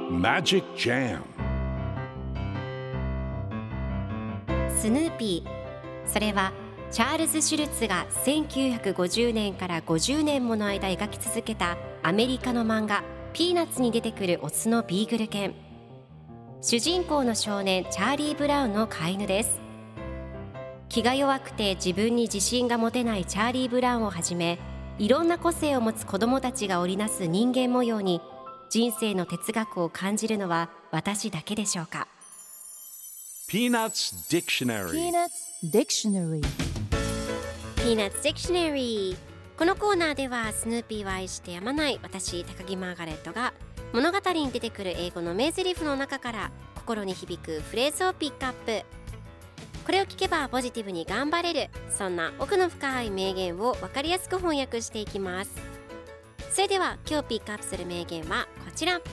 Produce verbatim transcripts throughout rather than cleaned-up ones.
Magic Jam スヌーピー、それはチャールズ・シュルツがせんきゅうひゃくごじゅうねんからごじゅうねんもの間描き続けたアメリカの漫画ピーナッツに出てくるオスのビーグル犬。主人公の少年チャーリー・ブラウンの飼い犬です。気が弱くて自分に自信が持てないチャーリー・ブラウンをはじめ、いろんな個性を持つ子どもたちが織りなす人間模様に人生の哲学を感じるのは私だけでしょうか。 Peanuts Dictionary Peanuts Dictionary Peanuts Dictionary。 このコーナーではスヌーピーを愛してやまない私高木マーガレットが物語に出てくる英語の名台詞の中から心に響くフレーズをピックアップ。これを聞けばポジティブに頑張れる、そんな奥の深い名言を分かりやすく翻訳していきます。それでは今日ピックアップする名言はこちら。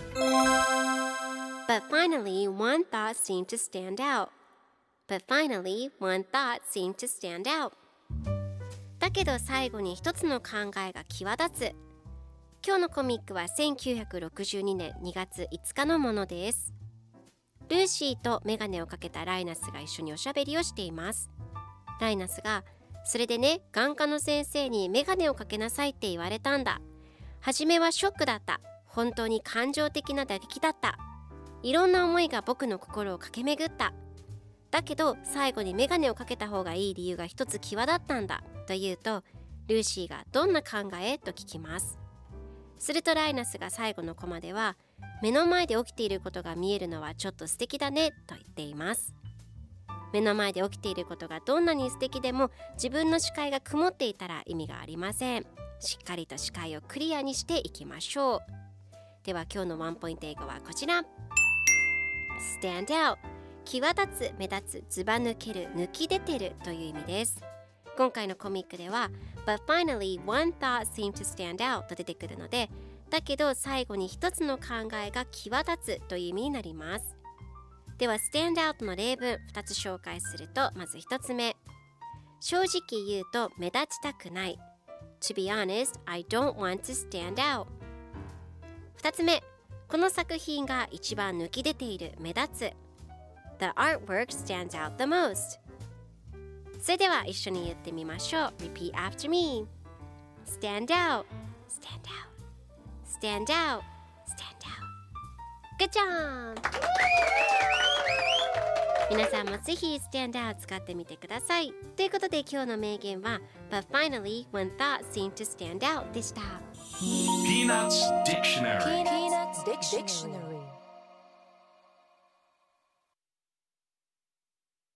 But finally one thought seemed to stand out But finally one thought seemed to stand out だけど最後に一つの考えが際立つ。今日のコミックはせんきゅうひゃくろくじゅうにねんにがついつかのものです。ルーシーとメガネをかけたライナスが一緒におしゃべりをしています。ライナスが、それでね、眼科の先生にメガネをかけなさいって言われたんだ。初めはショックだった。本当に感情的な打撃だった。いろんな思いが僕の心を駆け巡った。だけど最後にメガネをかけた方がいい理由が一つ際立ったんだと言うと、ルーシーがどんな考えと聞きます。するとライナスが最後のコマでは、目の前で起きていることが見えるのはちょっと素敵だねと言っています。目の前で起きていることがどんなに素敵でも自分の視界が曇っていたら意味がありません。しっかりと視界をクリアにしていきましょう。では今日のワンポイント英語はこちら。 Stand out、 際立つ、目立つ、ずば抜ける、抜き出てるという意味です。今回のコミックでは But finally one thought seemed to stand out と出てくるので、だけど最後に一つの考えが際立つという意味になります。では stand out の例文ふたつ紹介すると、まずひとつめ、正直言うと目立ちたくない。 To be honest, I don't want to stand out。 ふたつめ、この作品が一番抜き出ている、目立つ。 The artwork stands out the most。 それでは一緒に言ってみましょう。 Repeat after me。 Stand out, stand out, stand out, stand out。 Good job。 皆さんもぜひ stand out 使ってみてください。ということで今日の名言は But finally one thought seemed to stand out でした。 Peanuts Dictionary Peanuts Dictionary